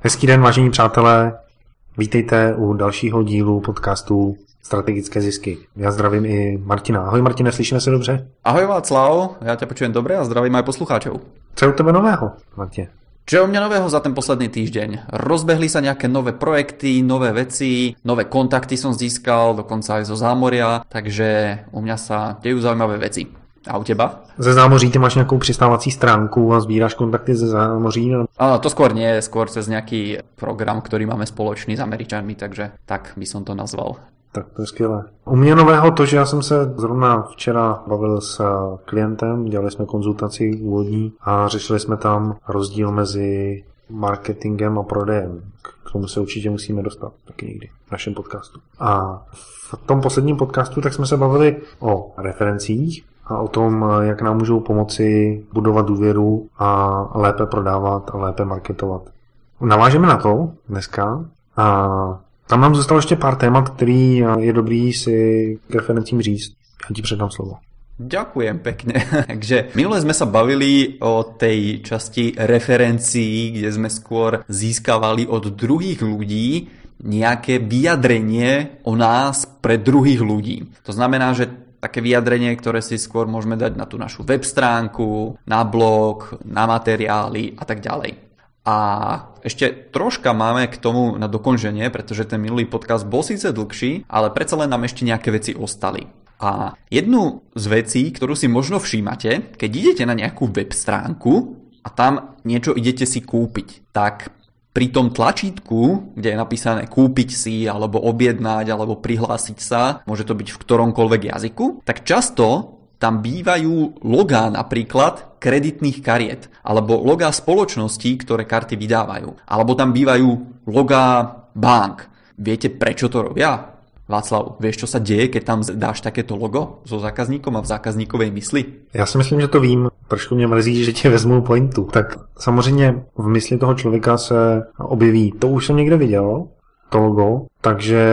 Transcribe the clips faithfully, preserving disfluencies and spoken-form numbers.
Hezký den, vážení přátelé. Vítejte u dalšího dílu podcastu Strategické zisky. Já zdravím i Martina. Ahoj Martine, slyšíme se dobře? Ahoj Václav, já tě počujem dobře a zdravím aj poslucháčov. Co je u tebe nového, Martine? Čo je u mňa nového za ten posledný týždeň? Rozbehli sa nejaké nové projekty, nové veci, nové kontakty som získal, dokonca aj zo zámoria, takže u mňa sa dejú zaujímavé veci. A u teba? Ze zámoří ty máš nějakou přistávací stránku a sbíráš kontakty ze zámoří? No? Áno, to skôr nie, skôr cez nejaký program, ktorý máme spoločný s Američanmi, takže tak by som to nazval. Tak to je skvělé. U mě nového to, že já jsem se zrovna včera bavil s klientem, dělali jsme konzultaci úvodní a řešili jsme tam rozdíl mezi marketingem a prodejem. K tomu se určitě musíme dostat taky někdy v našem podcastu. A v tom posledním podcastu tak jsme se bavili o referencích a o tom, jak nám můžou pomoci budovat důvěru a lépe prodávat a lépe marketovat. Navážeme na to dneska a tam nám zůstalo ještě pár témat, který je dobrý si k referencím říct. Já ti předám slovo. Ďakujem pekne. Takže minule sme sa bavili o tej časti referencií, kde sme skôr získavali od druhých ľudí nejaké vyjadrenie o nás pre druhých ľudí. To znamená, že také vyjadrenie, ktoré si skôr môžeme dať na tú našu web stránku, na blog, na materiály a tak ďalej. A ešte troška máme k tomu na dokončenie, pretože ten minulý podcast bol síce dlhší, ale predsa len nám ešte nejaké veci ostali. A jednu z vecí, ktorú si možno všímate, keď idete na nejakú web stránku a tam niečo idete si kúpiť, tak pri tom tlačítku, kde je napísané kúpiť si, alebo objednať, alebo prihlásiť sa, môže to byť v ktoromkoľvek jazyku, tak často tam bývajú logá napríklad kreditných kariet, alebo logá spoločností, ktoré karty vydávajú, alebo tam bývajú logá bank. Viete, prečo to robia? Václav, vieš, čo sa deje, keď tam dáš takéto logo so zákazníkom a v zákazníkovej mysli? Já si myslím, že to vím. Trošku mě mrzí, že tě vezmu pointu. Tak samozřejmě v mysli toho člověka se objeví, to už jsem někde viděl, to logo, takže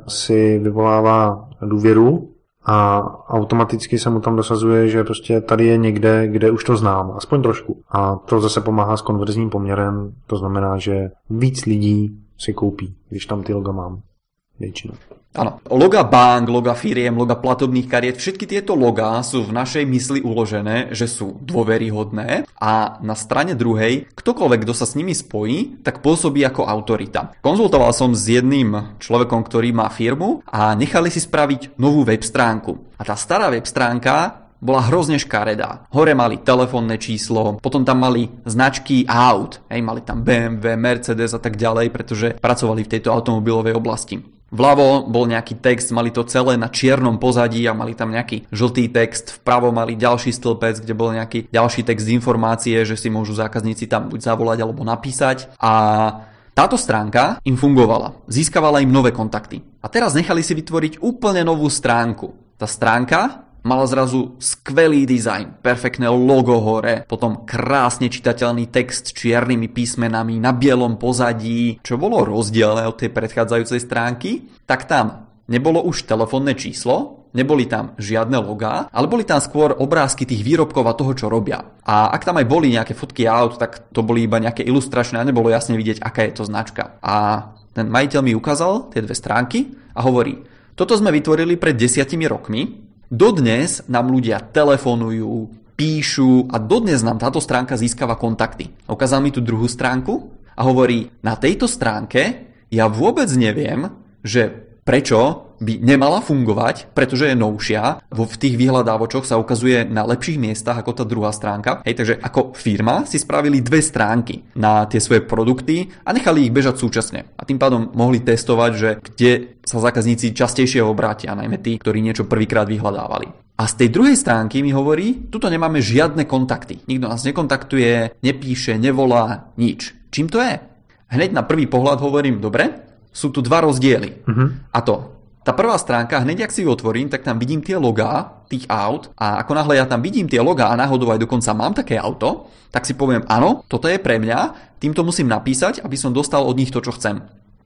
si vyvolává důvěru a automaticky se mu tam dosazuje, že prostě tady je někde, kde už to znám, aspoň trošku. A to zase pomáhá s konverzním poměrem, to znamená, že víc lidí si koupí, když tam ty loga mám. Většinou. Áno, loga bank, loga firiem, loga platobných kariet, všetky tieto logá sú v našej mysli uložené, že sú dôveryhodné a na strane druhej, ktokoľvek, kto sa s nimi spojí, tak pôsobí ako autorita. Konzultoval som s jedným človekom, ktorý má firmu a nechali si spraviť novú web stránku. A tá stará web stránka bola hrozne škaredá. Hore mali telefónne číslo, potom tam mali značky aut, hej, mali tam bé em vé, Mercedes a tak ďalej, pretože pracovali v tejto automobilovej oblasti. Vľavo bol nejaký text, mali to celé na čiernom pozadí a mali tam nejaký žltý text, vpravo mali ďalší stĺpec, kde bol nejaký ďalší text informácie, že si môžu zákazníci tam buď zavolať alebo napísať. A táto stránka im fungovala, získavala im nové kontakty. A teraz nechali si vytvoriť úplne novú stránku. Tá stránka mala zrazu skvelý dizajn, perfektné logo hore, potom krásne čitateľný text s čiernymi písmenami na bielom pozadí, čo bolo rozdielne od tej predchádzajúcej stránky, tak tam nebolo už telefónne číslo, neboli tam žiadne logá, ale boli tam skôr obrázky tých výrobkov a toho, čo robia. A ak tam aj boli nejaké fotky aut, tak to boli iba nejaké ilustračné a nebolo jasne vidieť, aká je to značka. A ten majiteľ mi ukázal tie dve stránky a hovorí, toto sme vytvorili pred desiatimi rokmi, dodnes nám ľudia telefonujú, píšu a dodnes nám táto stránka získava kontakty. Ukázal mi tú druhú stránku a hovorí, na tejto stránke ja vôbec neviem, že prečo by nemala fungovať, pretože je novšia. V tých vyhľadávočoch sa ukazuje na lepších miestach ako tá druhá stránka. Hej, takže ako firma si spravili dve stránky na tie svoje produkty a nechali ich bežať súčasne. A tým pádom mohli testovať, že kde sa zákazníci častejšie obrátia, najmä tí, ktorí niečo prvýkrát vyhľadávali. A z tej druhej stránky mi hovorí, tuto nemáme žiadne kontakty. Nikto nás nekontaktuje, nepíše, nevolá, nič. Čím to je? Hneď na prvý pohľad hovorím, dobre, sú tu dva rozdiely. Uh-huh. A to, tá prvá stránka, hneď ak si ju otvorím, tak tam vidím tie logá tých aut a ako náhle ja tam vidím tie logá a náhodou aj dokonca mám také auto, tak si poviem, áno, toto je pre mňa, týmto musím napísať, aby som dostal od nich to, čo chcem.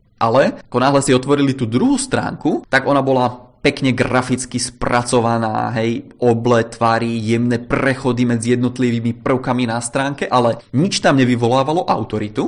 Ale ako náhle si otvorili tú druhú stránku, tak ona bola pekne graficky spracovaná, hej, oble, tvary, jemné prechody medzi jednotlivými prvkami na stránke, ale nič tam nevyvolávalo autoritu.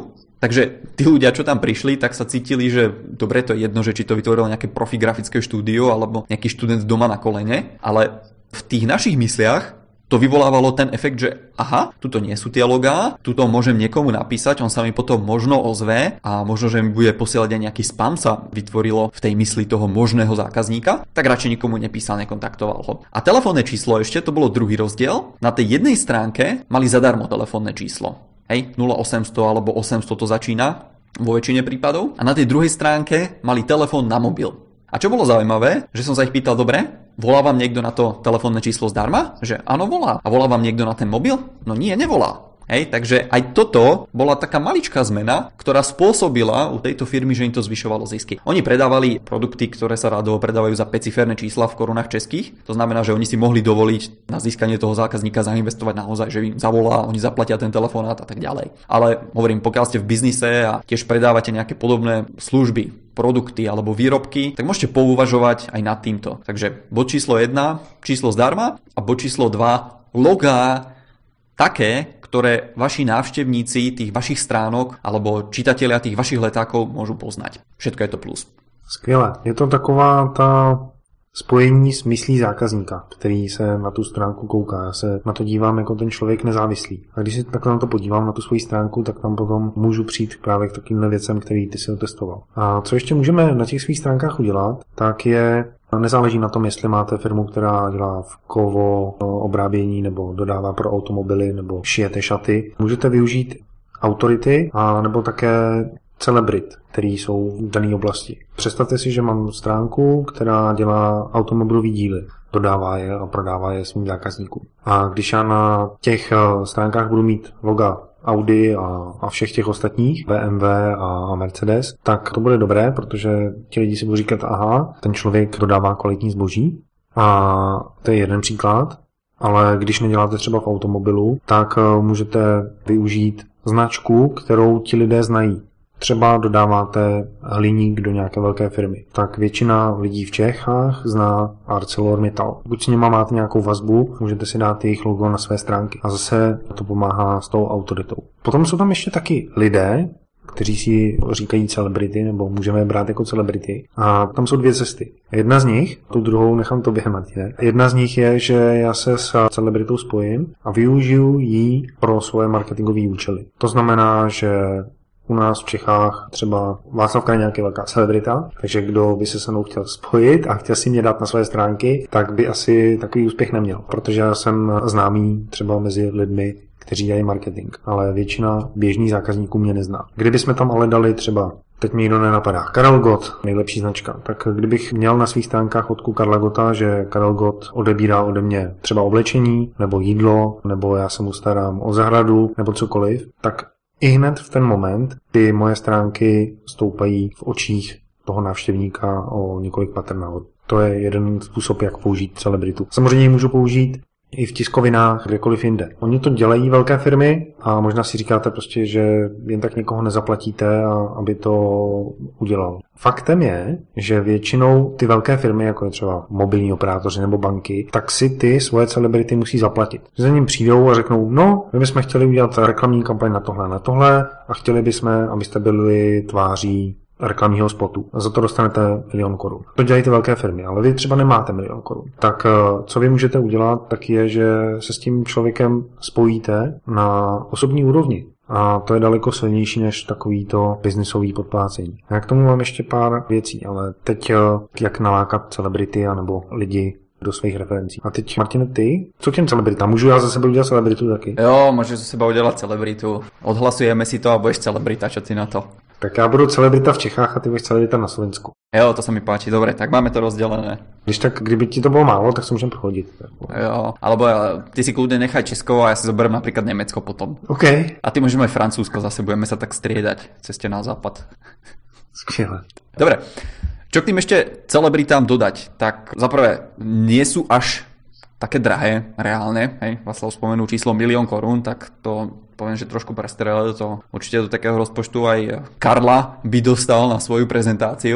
Takže tí ľudia, čo tam prišli, tak sa cítili, že dobre, to je jedno, že či to vytvorilo nejaké profigrafické štúdio alebo nejaký študent doma na kolene, ale v tých našich mysliach to vyvolávalo ten efekt, že aha, tuto nie sú tie logá, tuto môžem niekomu napísať, on sa mi potom možno ozve a možno, že mi bude posielať aj nejaký spam, sa vytvorilo v tej mysli toho možného zákazníka, tak radšej nikomu nepísal, nekontaktoval ho. A telefónne číslo ešte, to bolo druhý rozdiel. Na tej jednej stránke mali zadarmo telefónne číslo. Hej, nula osemsto alebo osemsto to začína vo väčšine prípadov. A na tej druhej stránke mali telefón na mobil. A čo bolo zaujímavé, že som sa ich pýtal, dobre, volá vám niekto na to telefónne číslo zdarma? Že áno, volá. A volá vám niekto na ten mobil? No nie, nevolá. Hej, takže aj toto bola taká maličká zmena, ktorá spôsobila u tejto firmy, že im to zvyšovalo zisky. Oni predávali produkty, ktoré sa rádovo predávajú za päťciferné čísla v korunách českých. To znamená, že oni si mohli dovoliť na získanie toho zákazníka zainvestovať naozaj, že im zavolá, oni zaplatia ten telefonát a tak ďalej. Ale hovorím, pokiaľ ste v biznise a tiež predávate nejaké podobné služby, produkty alebo výrobky, tak môžete pouvažovať aj nad týmto. Takže bod číslo jedna, číslo zdarma, a bod číslo dva, logá také, ktoré vaši návštevníci tých vašich stránok alebo čitatelia tých vašich letákov môžu poznať. Všetko je to plus. Skvěle. Je to taková ta spojení s myslí zákazníka, který se na tu stránku kouká. Já se na to dívám jako ten člověk nezávislý. A když si takhle na to podívám, na tu svoji stránku, tak tam potom můžu přijít právě k takovým věcem, který ty si otestoval. A co ještě můžeme na těch svých stránkách udělat, tak je, nezáleží na tom, jestli máte firmu, která dělá v kovo obrábění nebo dodává pro automobily nebo šijete šaty. Můžete využít autority a nebo také celebrit, který jsou v dané oblasti. Představte si, že mám stránku, která dělá automobilové díly, dodává je a prodává je svým zákazníkům. A když já na těch stránkách budu mít loga Audi a, a všech těch ostatních, bé em vé a Mercedes, tak to bude dobré, protože ti lidi si budou říkat, aha, ten člověk dodává kvalitní zboží. A to je jeden příklad, ale když neděláte třeba v automobilu, tak můžete využít značku, kterou ti lidé znají. Třeba dodáváte hliník do nějaké velké firmy, tak většina lidí v Čechách zná ArcelorMittal. Buď s nima máte nějakou vazbu, můžete si dát jejich logo na své stránky a zase to pomáhá s tou autoritou. Potom jsou tam ještě taky lidé, kteří si říkají celebrity, nebo můžeme je brát jako celebrity. A tam jsou dvě cesty. Jedna z nich, tu druhou nechám tobě, Martine. Jedna z nich je, že já se s celebritou spojím a využiju ji pro svoje marketingové účely. To znamená, že u nás v Čechách třeba Václav Kraňák je nějaká velká celebrita, takže kdo by se se mnou chtěl spojit a chtěl si mě dát na své stránky, tak by asi takový úspěch neměl, protože já jsem známý třeba mezi lidmi, kteří dělají marketing, ale většina běžných zákazníků mě nezná. Kdybychom tam ale dali třeba, teď mi nikdo nenapadá, Karel Gott, nejlepší značka, tak kdybych měl na svých stránkách fotku Karla Gotta, že Karel Gott odebírá ode mě třeba oblečení, nebo jídlo, nebo já se mu starám o zahradu, nebo cokoliv, tak i hned v ten moment ty moje stránky stoupají v očích toho návštěvníka o několik patr nahoru. To je jeden způsob, jak použít celebritu. Samozřejmě ji můžu použít i v tiskovinách, kdekoliv jinde. Oni to dělají velké firmy a možná si říkáte prostě, že jen tak někoho nezaplatíte, a aby to udělal. Faktem je, že většinou ty velké firmy, jako je třeba mobilní operátoři nebo banky, tak si ty svoje celebrity musí zaplatit. Za ním přijdou a řeknou, no, my bychom chtěli udělat reklamní kampaň na tohle, na tohle a chtěli bychom, abyste byli tváří reklamního spotu. A za to dostanete milion korun. To dělají ty velké firmy, ale vy třeba nemáte milion korun. Tak co vy můžete udělat, tak je, že se s tím člověkem spojíte na osobní úrovni. A to je daleko silnější než takovýto biznisový podplácení. Já k tomu mám ještě pár věcí, ale teď jak nalákat celebrity anebo lidi do svých referencí. A teď, Martine, ty? Co k těm celebritám? Můžu já za sebe udělat celebritu taky? Jo, můžeš za seba udělat celebritu. Odhlasujeme si to a budeš celebrita, čo ty na to? Tak já budu celebrita v Čechách a ty budeš celebrita na Slovensku. Jo, to sa mi páči. Dobre, tak máme to rozdelené. Když tak, kdyby ti to bylo málo, tak se můžeme prohodit. Jo, alebo ty si kľudne nechaj Česko a ja si zoberiem napríklad Nemecko potom. OK. A ty môžeme aj Francúzsko, zase budeme sa tak striedať ceste na západ. Skvěle. Dobre. Čo k tým ešte celebritám dodať? Tak zaprvé, nie sú až také drahé, reálne. Hej, Václav spomenul číslo milión korún, tak to poviem, že trošku prestrelil to. Určite do takého rozpočtu aj Karla by dostal na svoju prezentáciu.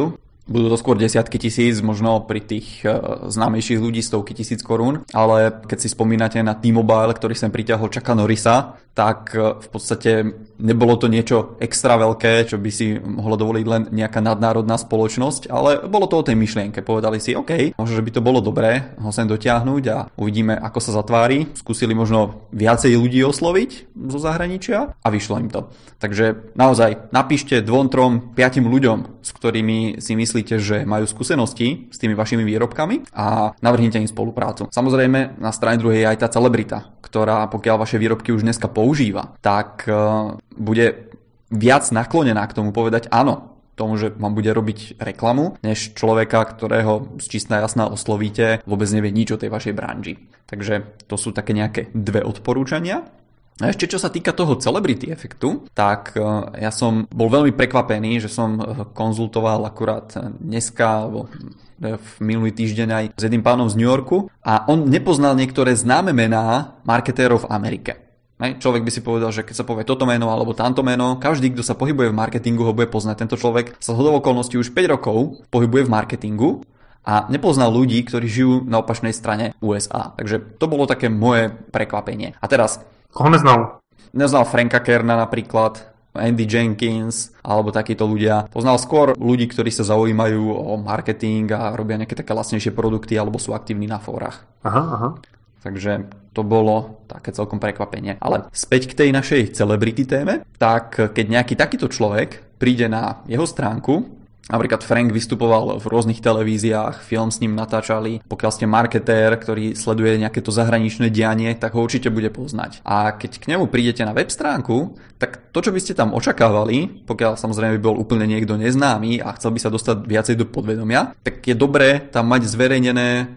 Budú to skôr desiatky tisíc, možno pri tých známejších ľudí stovky tisíc korún, ale keď si spomínate na T-Mobile, ktorý sem priťahol Chucka Norrisa, tak v podstate nebolo to niečo extra veľké, čo by si mohlo dovoliť len nejaká nadnárodná spoločnosť, ale bolo to o tej myšlienke. Povedali si, OK, možno, že by to bolo dobré ho sem dotiahnuť a uvidíme, ako sa zatvári. Skúsili možno viacej ľudí osloviť zo zahraničia a vyšlo im to. Takže naozaj napíšte dvom, trom, piatim ľuďom, s ktorými si myslíte, že majú skúsenosti s tými vašimi výrobkami a navrhnite im spoluprácu. Samozrejme, na strane druhej je aj tá celebrita, ktorá pokiaľ vaše výrobky už dneska používa, tak uh, bude viac naklonená k tomu povedať áno, tomu, že vám bude robiť reklamu, než človeka, ktorého z čistá jasná oslovíte, vôbec nevie nič o tej vašej branži. Takže to sú také nejaké dve odporúčania. A ešte čo sa týka toho celebrity efektu, tak ja som bol veľmi prekvapený, že som konzultoval akurát dneska, alebo v minulý týždeň aj s jedným pánom z New Yorku a on nepoznal niektoré známe mená marketérov v Amerike. Človek by si povedal, že keď sa povie toto meno alebo tamto meno, každý, kto sa pohybuje v marketingu, ho bude poznať. Tento človek sa zhodou okolností už päť rokov pohybuje v marketingu a nepoznal ľudí, ktorí žijú na opačnej strane U S A. Takže to bolo také moje prekvapenie. A teraz... Koho neznal? Neznal Franka Kerna napríklad, Andy Jenkins alebo takíto ľudia. Poznal skôr ľudí, ktorí sa zaujímajú o marketing a robia nejaké také lacnejšie produkty alebo sú aktívni na fórach. Aha, aha. Takže to bolo také celkom prekvapenie. Ale späť k tej našej celebrity téme, tak keď nejaký takýto človek príde na jeho stránku, napríklad Frank vystupoval v rôznych televíziách, film s ním natáčali. Pokiaľ ste marketér, ktorý sleduje nejaké to zahraničné dianie, tak ho určite bude poznať. A keď k nemu prídete na web stránku, tak to, čo by ste tam očakávali, pokiaľ samozrejme by bol úplne niekto neznámy a chcel by sa dostať viacej do podvedomia, tak je dobré tam mať zverejnené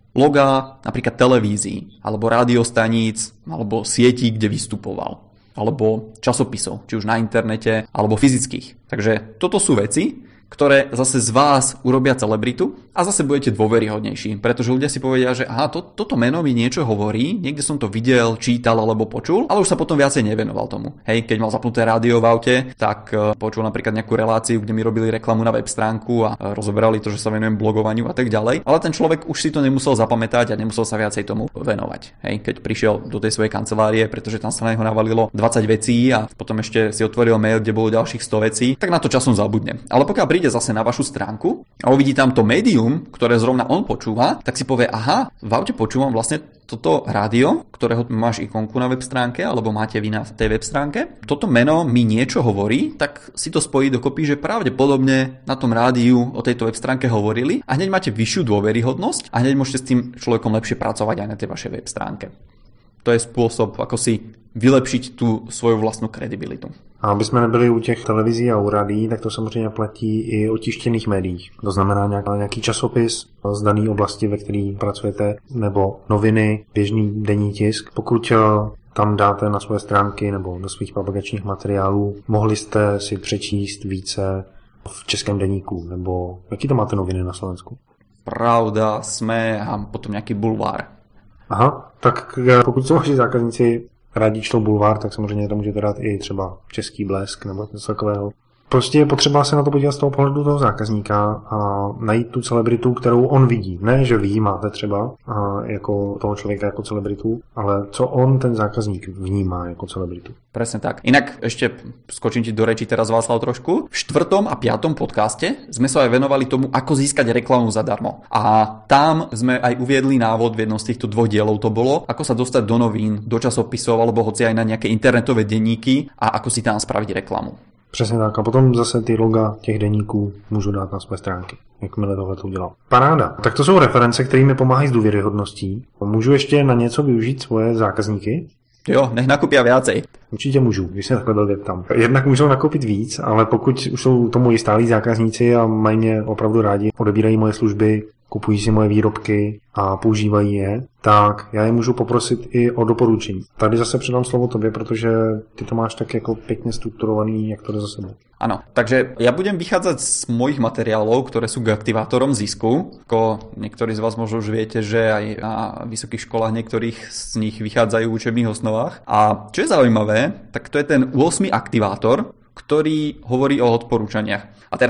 logá napríklad televízií, alebo rádiostaníc, alebo sietí, kde vystupoval, alebo časopisov, či už na internete, alebo fyzických. Takže toto sú veci, ktoré zase z vás urobia celebritu a zase budete dôveryhodnejší, pretože ľudia si povedia, že aha, to, toto meno mi niečo hovorí, niekde som to videl, čítal alebo počul, ale už sa potom viacej nevenoval tomu. Hej, keď mal zapnuté rádio v aute, tak uh, počul napríklad nejakú reláciu, kde mi robili reklamu na web stránku a uh, rozoberali to, že sa venujem blogovaniu a tak ďalej, ale ten človek už si to nemusel zapamätať a nemusel sa viacej tomu venovať. Hej, keď prišiel do tej svojej kancelárie, pretože tam sa na neho navalilo dvadsať vecí a potom ešte si otvoril mail, kde bolo ďalších sto vecí, tak na to časom zabudne. Ale pokiaľ príde zase na vašu stránku a uvidí tam to médium, ktoré zrovna on počúva, tak si povie, aha, v aute počúvam vlastne toto rádio, ktorého máš ikonku na web stránke, alebo máte vy na tej web stránke. Toto meno mi niečo hovorí, tak si to spojí dokopy, že pravdepodobne na tom rádiu o tejto web stránke hovorili a hneď máte vyššiu dôveryhodnosť a hneď môžete s tým človekom lepšie pracovať aj na tej vašej web stránke. To je spôsob, ako si vylepšiť tú svoju vlastnú kredibilitu. A aby jsme nebyli u těch televizí a u rádií, tak to samozřejmě platí i o tištěných médiích. To znamená nějaký časopis z dané oblasti, ve které pracujete, nebo noviny, běžný denní tisk. Pokud tam dáte na svoje stránky nebo do svých propagačních materiálů, mohli jste si přečíst více v českém deníku, nebo jaký to máte noviny na Slovensku? Pravda, Sme a potom nějaký bulvár. Aha, tak pokud jsou vaši zákazníci rádi čtou bulvár, tak samozřejmě tam můžete dát i třeba Český blesk nebo něco takového. Prostě je potřeba se na to podívat z toho pohledu toho zákazníka a najít tu celebritu, kterou on vidí. Ne, že vy ji máte třeba jako toho člověka jako celebritu, ale co on, ten zákazník, vnímá jako celebritu. Presne tak. Inak ešte skočím ti do reči teraz, Václav, trošku. V štvrtom a piatom podcaste sme sa aj venovali tomu, ako získať reklamu zadarmo. A tam sme aj uviedli návod, v jednom z týchto dvoch dielov to bolo, ako sa dostať do novín, do časopisov alebo hoci aj na nejaké internetové denníky a ako si tam spraviť reklamu. Přesně tak. A potom zase ty loga těch deníků můžu dát na své stránky, jakmile tohle to udělal. Paráda. Tak to jsou reference, které mi pomáhají s důvěryhodností. Můžu ještě na něco využít svoje zákazníky? Jo, nech nakupia viacej. Určitě můžu, když se takhle blbě tam. Jednak můžou nakoupit víc, ale pokud už jsou to moji stálí zákazníci a mají mě opravdu rádi, odebírají moje služby, kupují si moje výrobky a používají je, tak já je můžu poprosit i o doporučení. Tady zase předám slovo tobě, protože ty to máš tak jako pěkně strukturovaný, jak to jde za sebou. Áno, takže ja budem vychádzať z mojich materiálov, ktoré sú k aktivátorom zisku. Ako niektorí z vás možno už viete, že aj na vysokých školách niektorých z nich vychádzajú v učebných osnovách. A čo je zaujímavé, tak to je ten ôsmy aktivátor, ktorý hovorí o odporúčaniach. A teraz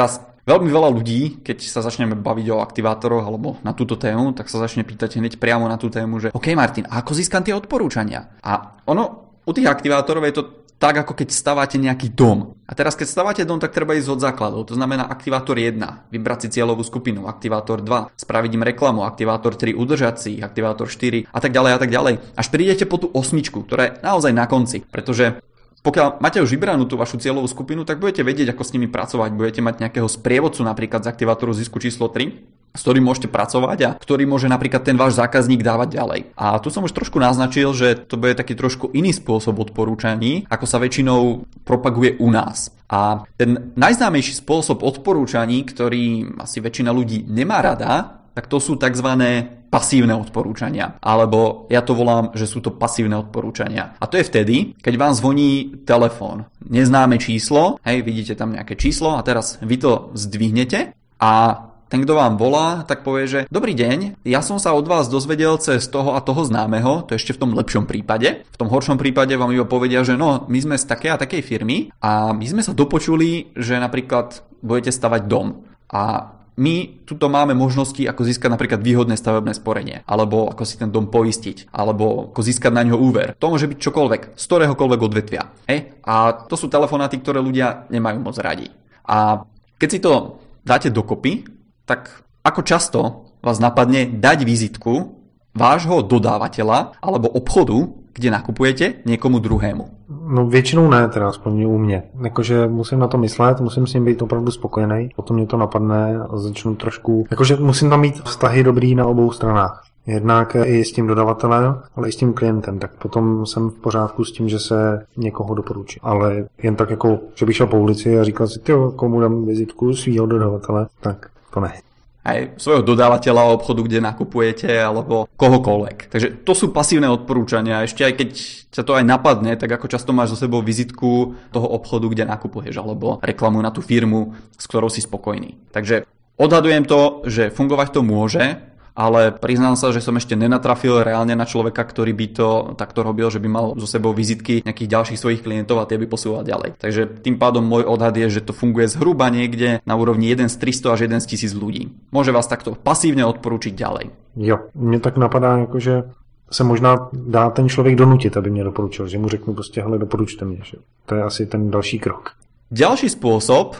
Veľmi veľa ľudí, keď sa začneme baviť o aktivátoroch alebo na túto tému, tak sa začne pýtať hneď priamo na tú tému, že OK Martin, a ako získam tie odporúčania? A ono, u tých aktivátorov je to tak, ako keď stávate nejaký dom. A teraz, keď stávate dom, tak treba ísť od základov. To znamená aktivátor jeden, vybrať si cieľovú skupinu, aktivátor dva, spraviť im reklamu, aktivátor tri, udržať si ich, aktivátor štyri a tak ďalej a tak ďalej. Až prídete po tú osmičku, ktorá je naozaj na konci, pretože pokiaľ máte už vybranú tú vašu cieľovú skupinu, tak budete vedieť, ako s nimi pracovať. Budete mať nejakého sprievodcu napríklad z aktivátoru zisku číslo tri, s ktorým môžete pracovať a ktorý môže napríklad ten váš zákazník dávať ďalej. A tu som už trošku naznačil, že to bude taký trošku iný spôsob odporúčaní, ako sa väčšinou propaguje u nás. A ten najznámejší spôsob odporúčaní, ktorý asi väčšina ľudí nemá rada, tak to sú tzv. Pasívne odporúčania. Alebo ja to volám, že sú to pasívne odporúčania. A to je vtedy, keď vám zvoní telefón. Neznáme číslo, hej, vidíte tam nejaké číslo a teraz vy to zdvihnete a ten, kto vám volá, tak povie, že dobrý deň, ja som sa od vás dozvedel cez toho a toho známeho, to ešte v tom lepšom prípade. V tom horšom prípade vám iba povedia, že no, my sme z takej a takej firmy a my sme sa dopočuli, že napríklad budete stavať dom. A my tuto máme možnosti, ako získať napríklad výhodné stavebné sporenie, alebo ako si ten dom poistiť, alebo ako získať na ňo úver. To môže byť čokoľvek, z ktoréhokoľvek odvetvia. Hej? A to sú telefonáty, ktoré ľudia nemajú moc radi. A keď si to dáte dokopy, tak ako často vás napadne dať vizitku vášho dodávateľa alebo obchodu, kde nakupujete, niekomu druhému? No většinou ne, teda aspoň u mě. Jakože musím na to myslet, musím s ním být opravdu spokojený, potom mě to napadne a začnu trošku, jakože musím tam mít vztahy dobrý na obou stranách. Jednak i s tím dodavatelem, ale i s tím klientem, tak potom jsem v pořádku s tím, že se někoho doporučí. Ale jen tak jako, že bych šel po ulici a říkal si, tyjo, komu dám vizitku svýho dodavatele, tak to ne. Aj svojho dodávateľa obchodu, kde nakupujete, alebo kohokoľvek. Takže to sú pasívne odporúčania. Ešte aj keď sa to aj napadne, tak ako často máš so sebou vizitku toho obchodu, kde nakupuješ, alebo reklamu na tú firmu, s ktorou si spokojný. Takže odhadujem to, že fungovať to môže, ale priznám sa, že som ešte nenatrafil reálne na človeka, ktorý by to takto robil, že by mal so sebou vizitky nejakých ďalších svojich klientov a tie by posúval ďalej. Takže tým pádom môj odhad je, že to funguje zhruba niekde na úrovni jeden z tristo až jeden z tisíc ľudí. Môže vás takto pasívne odporučiť ďalej. Jo, mne tak napadá, jakože se možná dá ten člověk donutit, aby mě doporučil, že mu řeknu prostě, hele, doporučte mě. Že? To je asi ten další krok. Ďalší spôsob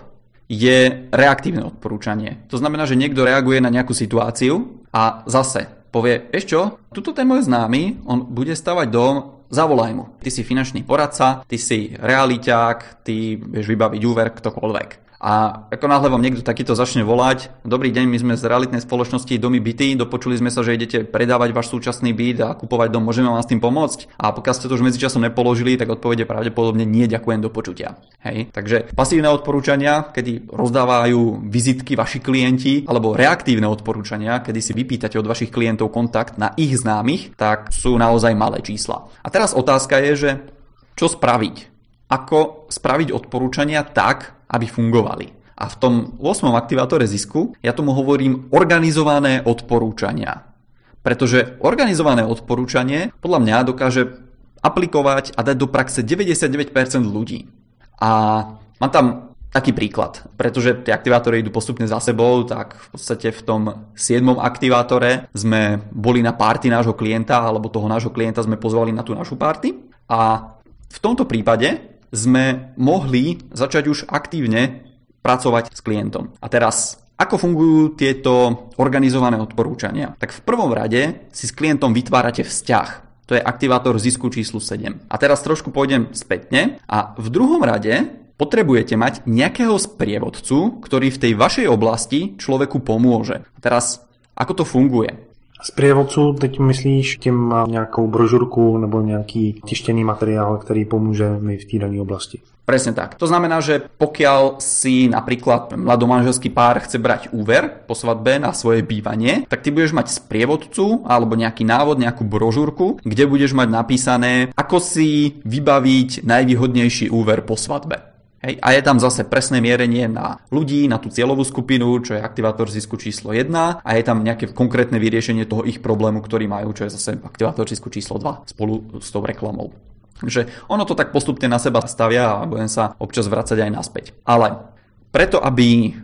je reaktívne odporúčanie. To znamená, že niekto reaguje na nejakú situáciu a zase povie, vieš čo, tuto ten môj známy, on bude stavať dom, zavolaj mu. Ty si finančný poradca, ty si realiťák, ty vieš vybaviť úver, ktokoľvek. A ako náhle vám niekto takýto začne volať, dobrý deň, my sme z realitnej spoločnosti Domy byty, dopočuli sme sa, že idete predávať váš súčasný byt a kupovať dom, môžeme vám s tým pomôcť? A pokiaľ ste to už medzičasom nepoložili, tak odpovede pravdepodobne nie, ďakujem, do počutia. Hej? Takže pasívne odporúčania, kedy rozdávajú vizitky vaši klienti, alebo reaktívne odporúčania, kedy si vypýtate od vašich klientov kontakt na ich známych, tak sú naozaj malé čísla. A teraz otázka je, že čo spraviť? Ako spraviť odporúčania tak, aby fungovali. A v tom ôsmom aktivátore zisku ja tomu hovorím organizované odporúčania. Pretože organizované odporúčanie podľa mňa dokáže aplikovať a dať do praxe deväťdesiatdeväť percent ľudí. A mám tam taký príklad, pretože tie aktivátory idú postupne za sebou, tak v podstate v tom siedmom aktivátore sme boli na party nášho klienta, alebo toho nášho klienta sme pozvali na tú našu party. A v tomto prípade sme mohli začať už aktívne pracovať s klientom. A teraz, ako fungujú tieto organizované odporúčania? Tak v prvom rade si s klientom vytvárate vzťah. To je aktivátor zisku číslo sedem. A teraz trošku pôjdem spätne. A v druhom rade potrebujete mať nejakého sprievodcu, ktorý v tej vašej oblasti človeku pomôže. A teraz, ako to funguje? Z prievodcu teď myslíš tím nějakou brožurku nebo nějaký tištěný materiál, který pomůže mi v té dané oblasti? Presne tak. To znamená, že pokiaľ si napríklad mladomanželský pár chce brať úver po svadbe na svoje bývanie, tak ty budeš mať sprievodcu alebo nejaký návod, nejakú brožúrku, kde budeš mať napísané, ako si vybaviť najvýhodnejší úver po svadbe. Hej, a je tam zase presné mierenie na ľudí, na tú cieľovú skupinu, čo je aktivátor zisku číslo jedna, a je tam nejaké konkrétne vyriešenie toho ich problému, ktorý majú, čo je zase aktivátor zisku číslo dva spolu s tou reklamou. Takže ono to tak postupne na seba stavia a budem sa občas vracať aj naspäť. Ale preto, aby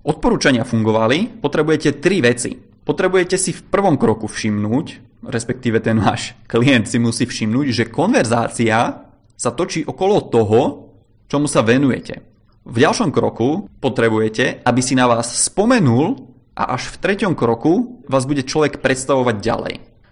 odporúčania fungovali, potrebujete tri veci. Potrebujete si v prvom kroku všimnúť, respektíve ten váš klient si musí všimnúť, že konverzácia sa točí okolo toho, čomu sa venujete. V ďalšom kroku potrebujete, aby si na vás spomenul a až v treťom kroku vás bude človek predstavovať ďalej.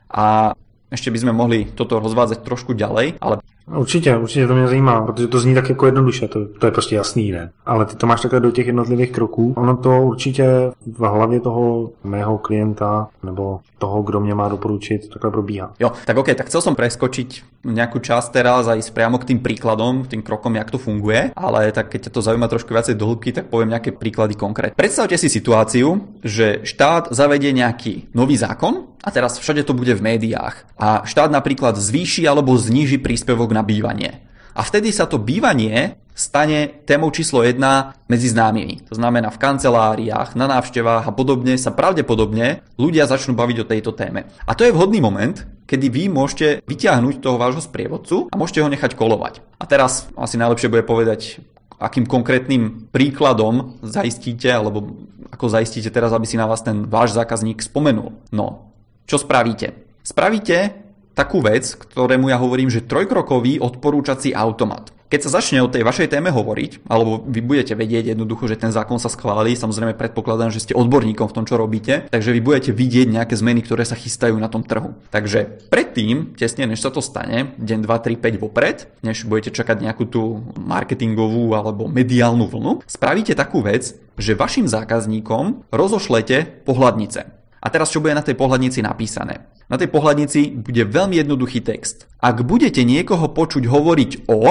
A ešte by sme mohli toto rozvádzať trošku ďalej, ale... Určitě, určitě to mě zajímá, protože to zní tak jako jednoduše, to, to je prostě jasný, ne? Ale ty to máš takhle do těch jednotlivých kroků. Ono to určitě v hlavě toho mého klienta nebo toho, kdo mě má doporučit, takhle probíhá. Jo, tak ok, tak chcel som preskočiť nejakú časť teraz a ísť priamo k tým príkladom, tým krokom, jak to funguje, ale tak keď ťa to zaujíma trošku viacej do hĺbky, tak poviem nejaké príklady konkrétne. Predstavte si situáciu, že štát zavedie nejaký nový zákon a teraz všade to bude v médiách a štát napríklad zvýši alebo zníži príspevok na bývanie. A vtedy sa to bývanie stane témou číslo jedna medzi známymi. To znamená v kanceláriách, na návštevách a podobne sa pravdepodobne ľudia začnú baviť o tejto téme. A to je vhodný moment, kedy vy môžete vyťahnuť toho vášho sprievodcu a môžete ho nechať kolovať. A teraz asi najlepšie bude povedať, akým konkrétnym príkladom zaistíte, alebo ako zaistíte teraz, aby si na vás ten váš zákazník spomenul. No, čo spravíte? Spravíte takú vec, ktorému ja hovorím, že trojkrokový odporúčací automat. Keď sa začne o tej vašej téme hovoriť, alebo vy budete vedieť jednoducho, že ten zákon sa schválí, samozrejme predpokladám, že ste odborníkom v tom, čo robíte, takže vy budete vidieť nejaké zmeny, ktoré sa chystajú na tom trhu. Takže predtým, tesne než sa to stane, deň, dva, tri, päť vopred, než budete čakať nejakú tú marketingovú alebo mediálnu vlnu, spravíte takú vec, že vašim zákazníkom rozošlete pohľadnice. A teraz čo bude na tej pohľadnici napísané? Na tej pohľadnici bude veľmi jednoduchý text. Ak budete niekoho počuť hovoriť o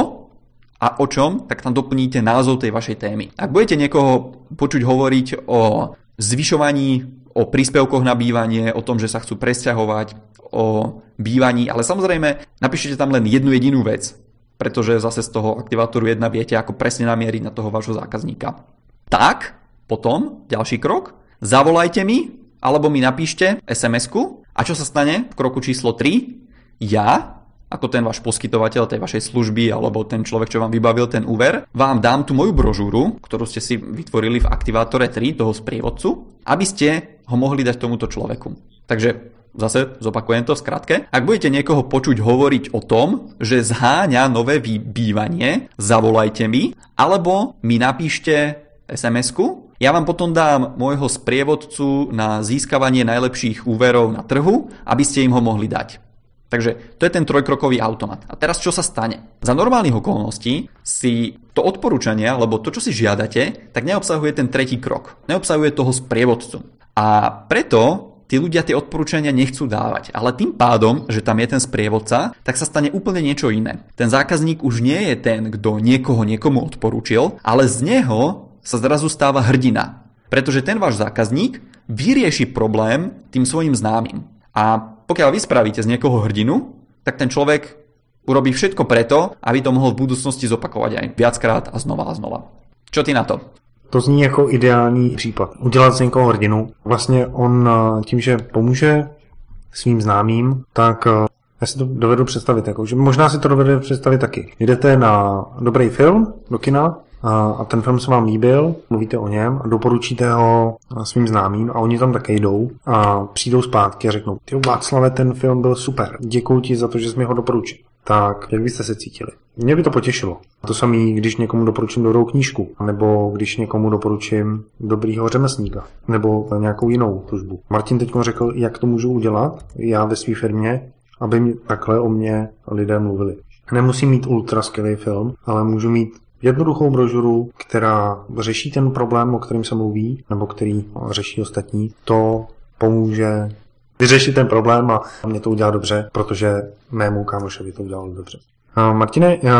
a o čom, tak tam doplníte názov tej vašej témy. Ak budete niekoho počuť hovoriť o zvyšovaní, o príspevkoch na bývanie, o tom, že sa chcú presťahovať, o bývaní, ale samozrejme napíšete tam len jednu jedinú vec, pretože zase z toho aktivátoru jedna viete, ako presne namieriť na toho vášho zákazníka. Tak, potom, ďalší krok, zavolajte mi, alebo mi napíšte es em esku a čo sa stane v kroku číslo tri? Ja, ako ten váš poskytovateľ tej vašej služby alebo ten človek, čo vám vybavil ten úver, vám dám tú moju brožúru, ktorú ste si vytvorili v aktivátore tri, toho sprievodcu, aby ste ho mohli dať tomuto človeku. Takže zase zopakujem to v skratke. Ak budete niekoho počuť hovoriť o tom, že zháňa nové bývanie, zavolajte mi, alebo mi napíšte es em esku. Ja vám potom dám môjho sprievodcu na získavanie najlepších úverov na trhu, aby ste im ho mohli dať. Takže to je ten trojkrokový automat. A teraz čo sa stane? Za normálnych okolností si to odporúčanie, alebo to, čo si žiadate, tak neobsahuje ten tretí krok. Neobsahuje toho sprievodcu. A preto tí ľudia tie odporúčania nechcú dávať. Ale tým pádom, že tam je ten sprievodca, tak sa stane úplne niečo iné. Ten zákazník už nie je ten, kto niekoho niekomu odporúčil, ale z neho sa zrazu stáva hrdina. Pretože ten váš zákazník vyrieši problém tým svojim známym. A pokiaľ vy spravíte z niekoho hrdinu, tak ten človek urobí všetko preto, aby to mohol v budúcnosti zopakovať aj viackrát a znova a znova. Čo ty na to? To zní jako ideální případ. Udělat z někoho hrdinu. Vlastně on tím, že pomůže svým známým, tak já si to dovedu představit. Jako, že možná si to dovedu představit taky. Jdete na dobrý film do kina, a ten film se vám líbil, mluvíte o něm a doporučíte ho svým známým a oni tam také jdou a přijdou zpátky a řeknou: ty Václave, ten film byl super, děkuji ti za to, že jsi mi ho doporučil. Tak jak byste se cítili? Mě by to potěšilo. To samé, když někomu doporučím dobrou knížku, nebo když někomu doporučím dobrýho řemeslníka, nebo nějakou jinou službu. Martin teď řekl, jak to můžu udělat já ve své firmě, aby mi takhle o mě lidé mluvili. Nemusím mít ultra skvělý film, ale můžu mít jednoduchou brožuru, která řeší ten problém, o kterém se mluví, nebo který řeší ostatní. To pomůže vyřešit ten problém a mě to udělá dobře, protože mému kámošovi to udělalo dobře. Uh, Martine, uh,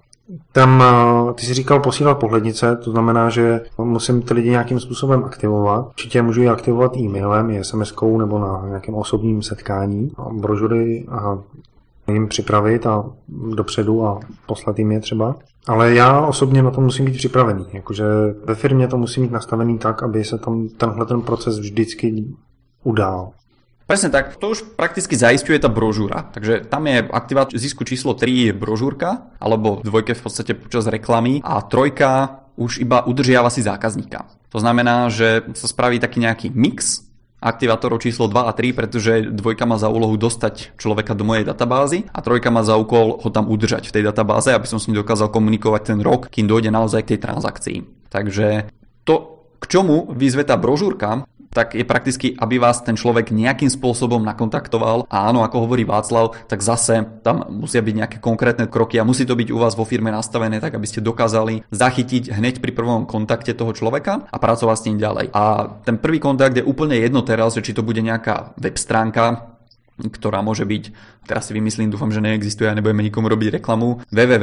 tam uh, ty jsi říkal posílat pohlednice, to znamená, že musím ty lidi nějakým způsobem aktivovat. Určitě můžu je aktivovat e-mailem, es em eskou nebo na nějakém osobním setkání. Brožury a jim připravit a dopředu a poslat jim je třeba. Ale já osobně na to musím být připravený. Jakože ve firmě to musí mít nastavený tak, aby se tam tenhle ten proces vždycky udál. Presne tak, to už prakticky zaisťuje tá brožúra. Takže tam je aktivát zisku číslo tri je brožúrka, alebo v dvojke v podstate počas reklamy a trojka už iba udržiava si zákazníka. To znamená, že sa spraví taký nejaký mix aktivátorov číslo dva a tri, pretože dvojka má za úlohu dostať človeka do mojej databázy a trojka má za úkol ho tam udržať v tej databáze, aby som s ním dokázal komunikovať ten rok, kým dojde naozaj k tej transakcii. Takže to, k čomu vyzve tá brožúrka, tak je prakticky, aby vás ten človek nejakým spôsobom nakontaktoval. A áno, ako hovorí Václav, tak zase tam musia byť nejaké konkrétne kroky a musí to byť u vás vo firme nastavené tak, aby ste dokázali zachytiť hneď pri prvom kontakte toho človeka a pracovať s ním ďalej. A ten prvý kontakt je úplne jedno teraz, že či to bude nejaká web stránka, ktorá môže byť, teraz si vymyslím, dúfam, že neexistuje a nebudeme nikomu robiť reklamu, www,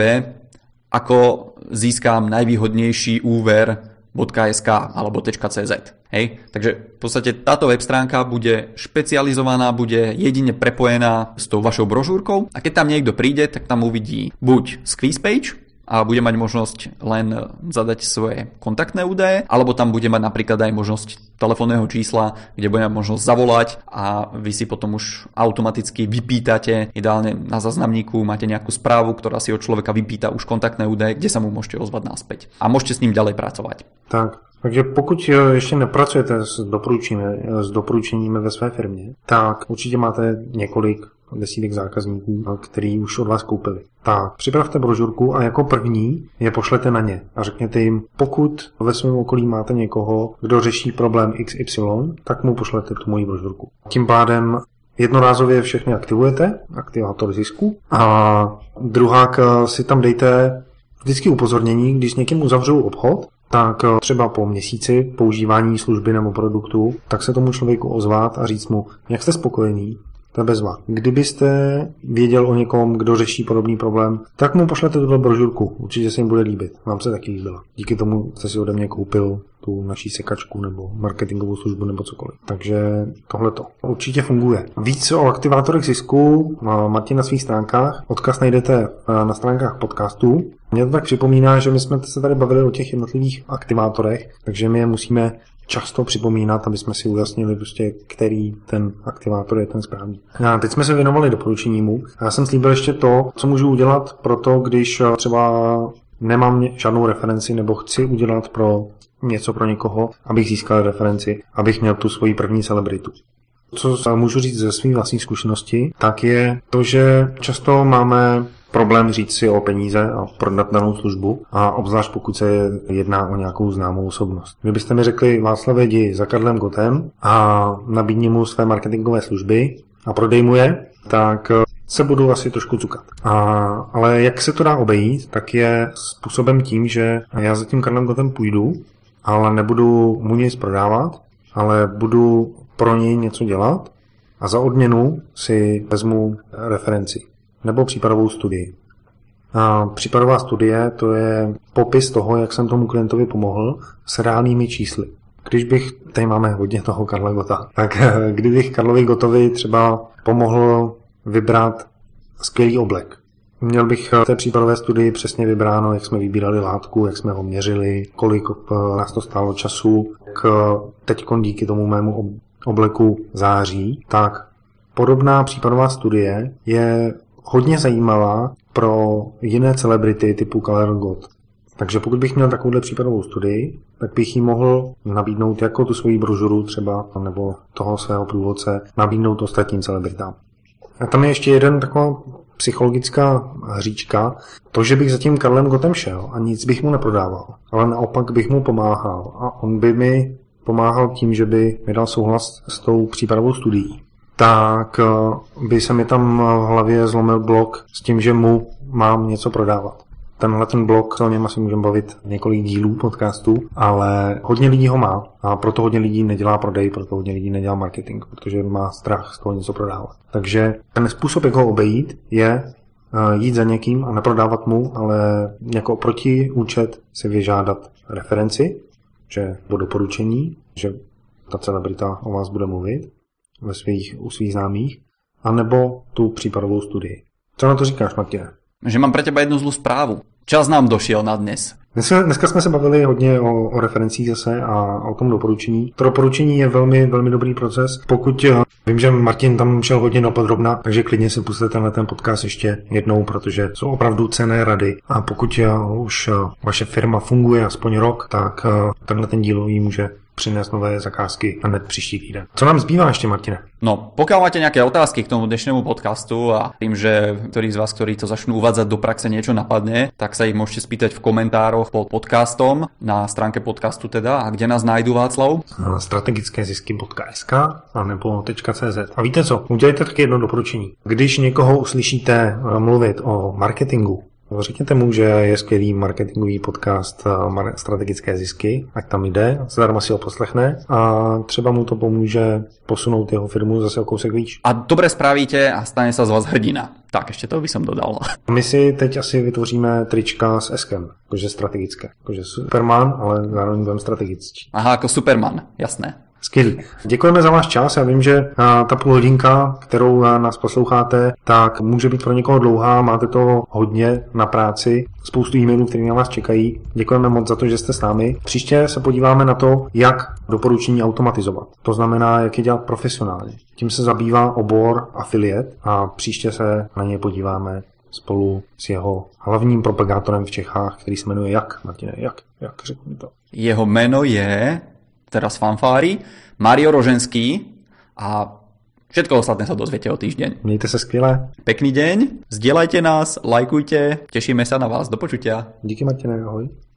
ako získam najvýhodnejší úver .sk alebo .cz. Hej? Takže v podstate táto web stránka bude špecializovaná, bude jedine prepojená s tou vašou brožúrkou a keď tam niekto príde, tak tam uvidí buď squeeze page a bude mať možnosť len zadať svoje kontaktné údaje, alebo tam bude mať napríklad aj možnosť telefónneho čísla, kde bude mať možnosť zavolať a vy si potom už automaticky vypýtate, ideálne na záznamníku máte nejakú správu, ktorá si od človeka vypýta už kontaktné údaje, kde sa mu môžete ozvať naspäť. A môžete s ním ďalej pracovať. Tak, takže pokud ještě nepracujete s doporučeními, s doporučeními ve své firmě, tak určitě máte několik desítek zákazníků, který už od vás koupili. Tak, připravte brožurku a jako první je pošlete na ně a řekněte jim, pokud ve svém okolí máte někoho, kdo řeší problém iks ypsilon, tak mu pošlete tu moji brožurku. Tím pádem jednorázově všechny aktivujete, aktivátor zisku, a druhák si tam dejte vždycky upozornění, když s někým uzavřou obchod, tak třeba po měsíci používání služby nebo produktu, tak se tomu člověku ozvat a říct mu, jak jste spokojený, to je bezva. Kdybyste věděl o někom, kdo řeší podobný problém, tak mu pošlete tuto brožurku. Určitě se jim bude líbit. Vám se taky líbila. Díky tomu jste si ode mě koupil tu naší sekačku nebo marketingovou službu nebo cokoliv. Takže tohleto určitě funguje. Víc o aktivátorech zisku máte na svých stránkách. Odkaz najdete na stránkách podcastů. Mně to tak připomíná, že my jsme se tady bavili o těch jednotlivých aktivátorech, takže my je musíme často připomínat, aby jsme si ujasnili, prostě, který ten aktivátor je ten správný. A teď jsme se věnovali doporučenímu. Já jsem slíbil ještě to, co můžu udělat pro to, když třeba nemám žádnou referenci nebo chci udělat pro něco pro někoho, abych získal referenci, abych měl tu svoji první celebritu. Co můžu říct ze své vlastní zkušenosti, tak je to, že často máme problém říct si o peníze a prodat danou službu, a obzvlášť pokud se jedná o nějakou známou osobnost. Kdybyste mi řekli, Václave, jdi za Karlem Gottem a nabídni mu své marketingové služby a prodej mu je, tak se budu asi trošku cukat. A, ale jak se to dá obejít, tak je způsobem tím, že já za tím Karlem Gottem půjdu, ale nebudu mu nic prodávat, ale budu pro něj něco dělat a za odměnu si vezmu referenci nebo případovou studii. A případová studie, to je popis toho, jak jsem tomu klientovi pomohl s reálnými čísly. Když bych, tady máme hodně toho Karla Gotta, tak kdybych Karlovi Gottovi třeba pomohl vybrat skvělý oblek. Měl bych v té případové studii přesně vybráno, jak jsme vybírali látku, jak jsme ho měřili, kolik nás to stálo času, jak teď díky tomu mému obleku září, tak podobná případová studie je hodně zajímavá pro jiné celebrity typu Karel Gott. Takže pokud bych měl takovouhle případovou studii, tak bych jí mohl nabídnout jako tu svoji brožuru třeba, nebo toho svého průvodce, nabídnout ostatním celebritám. A tam je ještě jeden taková psychologická hříčka, to, že bych za tím Karlem Gottem šel a nic bych mu neprodával, ale naopak bych mu pomáhal a on by mi pomáhal tím, že by mi dal souhlas s tou případovou studií. Tak by se mi tam v hlavě zlomil blok s tím, že mu mám něco prodávat. Tenhle ten blok, o něm asi můžeme bavit několik dílů podcastu, ale hodně lidí ho má a proto hodně lidí nedělá prodej, proto hodně lidí nedělá marketing, protože má strach z toho něco prodávat. Takže ten způsob, jak ho obejít, je jít za někým a neprodávat mu, ale jako protiúčet si vyžádat referenci, že po doporučení, že ta celebrita o vás bude mluvit ve svých, u svých známých, anebo tu případovou studii. Co na to říkáš, Martine? Že mám pre teba jednu zlú správu. Čas nám došiel na dnes. Dneska, dneska jsme se bavili hodně o, o referencích zase a o tom doporučení. To doporučení je velmi, velmi dobrý proces. Pokud vím, že Martin tam šel hodně dopodrobna, takže klidně si pusťte tenhle ten podcast ještě jednou, protože jsou opravdu cenné rady. A pokud už vaše firma funguje aspoň rok, tak tenhle ten díl jí může přinést nové zakázky hned příští týden. Co nám zbývá ještě, Martine? No, pokiaľ máte nejaké otázky k tomu dnešnému podcastu a tým, že ktorí z vás, ktorí to začnú uvádzať do praxe, niečo napadne, tak sa ich môžete spýtať v komentároch pod podcastom na stránke podcastu teda. A kde nás nájdú, Václav? Na strategické zisky bodka es ká a nebo .cz. A víte co? Udělejte taky jedno doporučení. Když někoho uslyšíte mluvit o marketingu, řekněte mu, že je skvělý marketingový podcast Strategické zisky, ať tam jde, zadarmo si ho poslechne a třeba mu to pomůže posunout jeho firmu zase o kousek výš. A dobre spravíte a stane sa z vás hrdina. Tak, ešte to by som dodal. My si teď asi vytvoříme trička s eskem, jakože strategické, jakože Superman, ale zároveň budeme strategický. Aha, jako Superman, jasné. Skvělý. Děkujeme za váš čas. Já vím, že ta půl hodinka, kterou nás posloucháte, tak může být pro někoho dlouhá. Máte to hodně na práci, spoustu e-mailů, které na vás čekají. Děkujeme moc za to, že jste s námi. Příště se podíváme na to, jak doporučení automatizovat. To znamená, jak je dělat profesionálně. Tím se zabývá obor affiliate a příště se na něj podíváme spolu s jeho hlavním propagátorem v Čechách, který se jmenuje jak, Martine, jak, jak, řekni to. Jeho jméno je... teraz fanfári, Mario Roženský a všetko ostatné sa dozviete o týždeň. Mějte se skvěle. Pekný deň, zdieľajte nás, lajkujte, tešíme sa na vás, do počutia. Díky, Martine, ahoj.